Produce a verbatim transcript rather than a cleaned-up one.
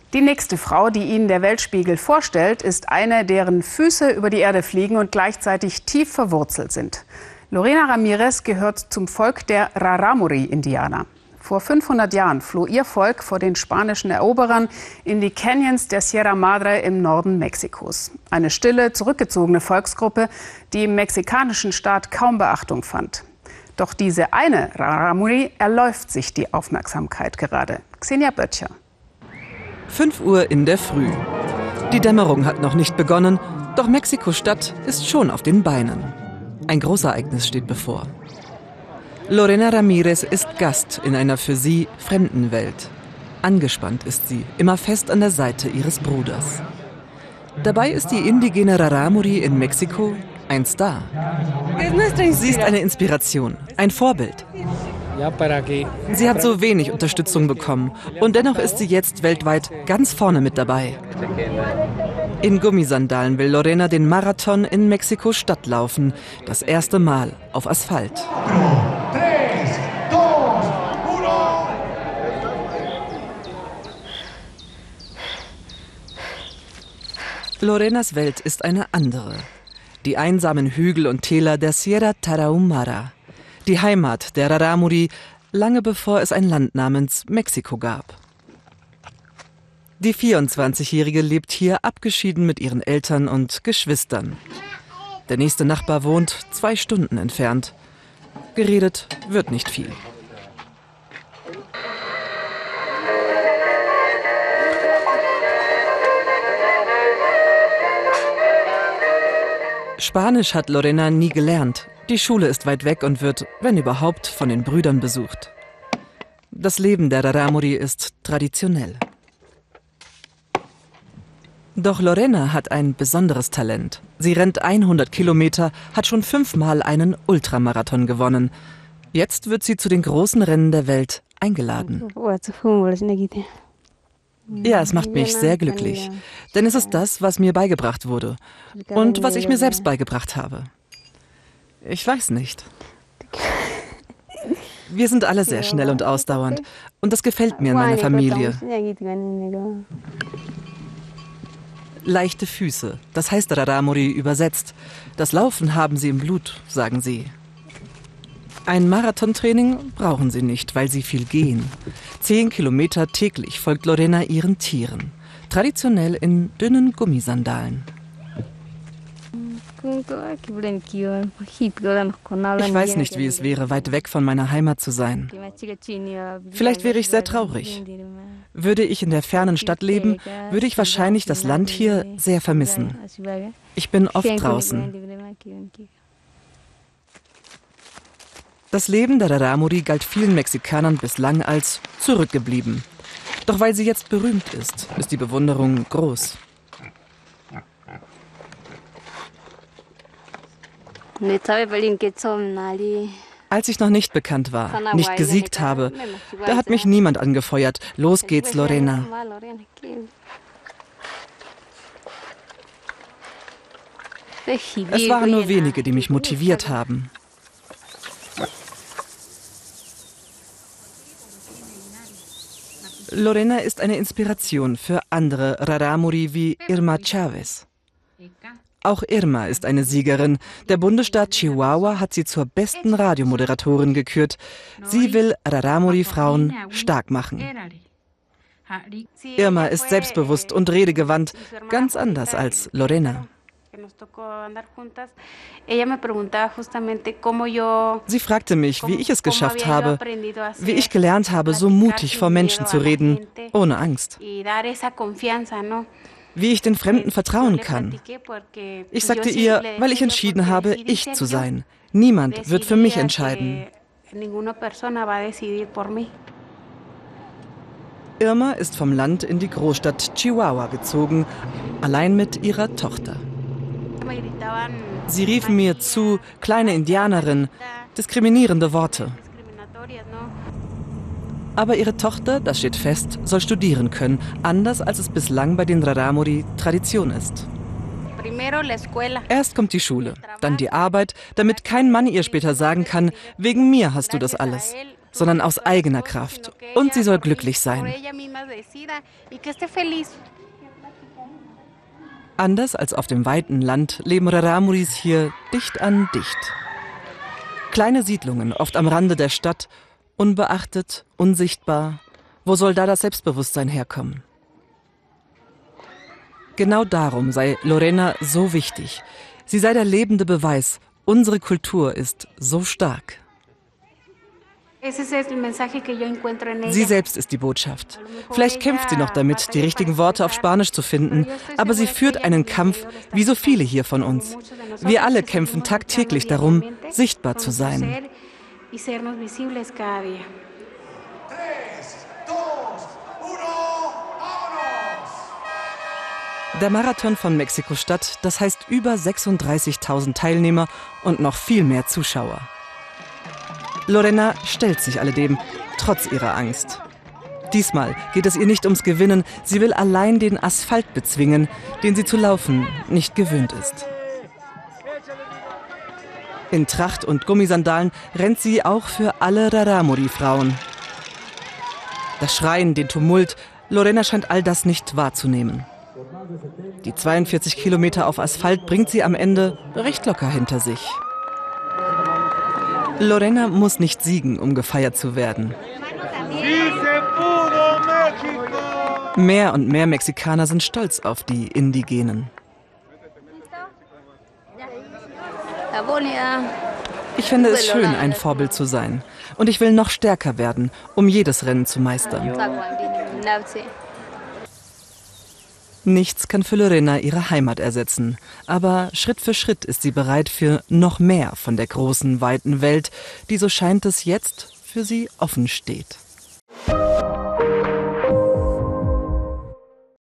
Die nächste Frau, die Ihnen der Weltspiegel vorstellt, ist eine, deren Füße über die Erde fliegen und gleichzeitig tief verwurzelt sind. Lorena Ramirez gehört zum Volk der Rarámuri-Indianer. Vor fünfhundert Jahren floh ihr Volk vor den spanischen Eroberern in die Canyons der Sierra Madre im Norden Mexikos. Eine stille, zurückgezogene Volksgruppe, die im mexikanischen Staat kaum Beachtung fand. Doch diese eine Rarámuri erläuft sich die Aufmerksamkeit gerade. Xenia Böttcher. fünf Uhr in der Früh. Die Dämmerung hat noch nicht begonnen, doch Mexiko-Stadt ist schon auf den Beinen. Ein Großereignis steht bevor. Lorena Ramirez ist Gast in einer für sie fremden Welt. Angespannt ist sie, immer fest an der Seite ihres Bruders. Dabei ist die indigene Rarámuri in Mexiko ein Star. Sie ist eine Inspiration, ein Vorbild. Sie hat so wenig Unterstützung bekommen und dennoch ist sie jetzt weltweit ganz vorne mit dabei. In Gummisandalen will Lorena den Marathon in Mexiko-Stadt laufen, das erste Mal auf Asphalt. Lorenas Welt ist eine andere. Die einsamen Hügel und Täler der Sierra Tarahumara. Die Heimat der Rarámuri, lange bevor es ein Land namens Mexiko gab. Die vierundzwanzigjährige lebt hier abgeschieden mit ihren Eltern und Geschwistern. Der nächste Nachbar wohnt zwei Stunden entfernt. Geredet wird nicht viel. Spanisch hat Lorena nie gelernt. Die Schule ist weit weg und wird, wenn überhaupt, von den Brüdern besucht. Das Leben der Rarámuri ist traditionell. Doch Lorena hat ein besonderes Talent. Sie rennt hundert Kilometer, hat schon fünfmal einen Ultramarathon gewonnen. Jetzt wird sie zu den großen Rennen der Welt eingeladen. Ja, es macht mich sehr glücklich, denn es ist das, was mir beigebracht wurde und was ich mir selbst beigebracht habe. Ich weiß nicht. Wir sind alle sehr schnell und ausdauernd und das gefällt mir in meiner Familie. Leichte Füße, das heißt Rarámuri übersetzt. Das Laufen haben sie im Blut, sagen sie. Ein Marathontraining brauchen sie nicht, weil sie viel gehen. Zehn Kilometer täglich folgt Lorena ihren Tieren. Traditionell in dünnen Gummisandalen. Ich weiß nicht, wie es wäre, weit weg von meiner Heimat zu sein. Vielleicht wäre ich sehr traurig. Würde ich in der fernen Stadt leben, würde ich wahrscheinlich das Land hier sehr vermissen. Ich bin oft draußen. Das Leben der Rarámuri galt vielen Mexikanern bislang als zurückgeblieben. Doch weil sie jetzt berühmt ist, ist die Bewunderung groß. Als ich noch nicht bekannt war, nicht gesiegt habe, da hat mich niemand angefeuert. Los geht's, Lorena. Es waren nur wenige, die mich motiviert haben. Lorena ist eine Inspiration für andere Rarámuri wie Irma Chavez. Auch Irma ist eine Siegerin. Der Bundesstaat Chihuahua hat sie zur besten Radiomoderatorin gekürt. Sie will Rarámuri-Frauen stark machen. Irma ist selbstbewusst und redegewandt, ganz anders als Lorena. Sie fragte mich, wie ich es geschafft habe, wie ich gelernt habe, so mutig vor Menschen zu reden, ohne Angst. Wie ich den Fremden vertrauen kann. Ich sagte ihr, weil ich entschieden habe, ich zu sein. Niemand wird für mich entscheiden. Irma ist vom Land in die Großstadt Chihuahua gezogen, allein mit ihrer Tochter. Sie riefen mir zu, kleine Indianerin, diskriminierende Worte. Aber ihre Tochter, das steht fest, soll studieren können, anders als es bislang bei den Rarámuri Tradition ist. Erst kommt die Schule, dann die Arbeit, damit kein Mann ihr später sagen kann, wegen mir hast du das alles. sondern aus eigener Kraft. Und sie soll glücklich sein. Anders als auf dem weiten Land leben Raramuris hier dicht an dicht. Kleine Siedlungen, oft am Rande der Stadt, unbeachtet, unsichtbar. Wo soll da das Selbstbewusstsein herkommen? Genau darum sei Lorena so wichtig. Sie sei der lebende Beweis, unsere Kultur ist so stark. Sie selbst ist die Botschaft. Vielleicht kämpft sie noch damit, die richtigen Worte auf Spanisch zu finden, aber sie führt einen Kampf, wie so viele hier von uns. Wir alle kämpfen tagtäglich darum, sichtbar zu sein. Der Marathon von Mexiko-Stadt, das heißt über sechsunddreißigtausend Teilnehmer und noch viel mehr Zuschauer. Lorena stellt sich alledem, trotz ihrer Angst. Diesmal geht es ihr nicht ums Gewinnen, sie will allein den Asphalt bezwingen, den sie zu laufen nicht gewöhnt ist. In Tracht und Gummisandalen rennt sie auch für alle Raramuri-Frauen. Das Schreien, den Tumult, Lorena scheint all das nicht wahrzunehmen. Die zweiundvierzig Kilometer auf Asphalt bringt sie am Ende recht locker hinter sich. Lorena muss nicht siegen, um gefeiert zu werden. Mehr und mehr Mexikaner sind stolz auf die Indigenen. Ich finde es schön, ein Vorbild zu sein. Und ich will noch stärker werden, um jedes Rennen zu meistern. Nichts kann für Lorena ihre Heimat ersetzen. Aber Schritt für Schritt ist sie bereit für noch mehr von der großen, weiten Welt, die, so scheint es jetzt, für sie offen steht.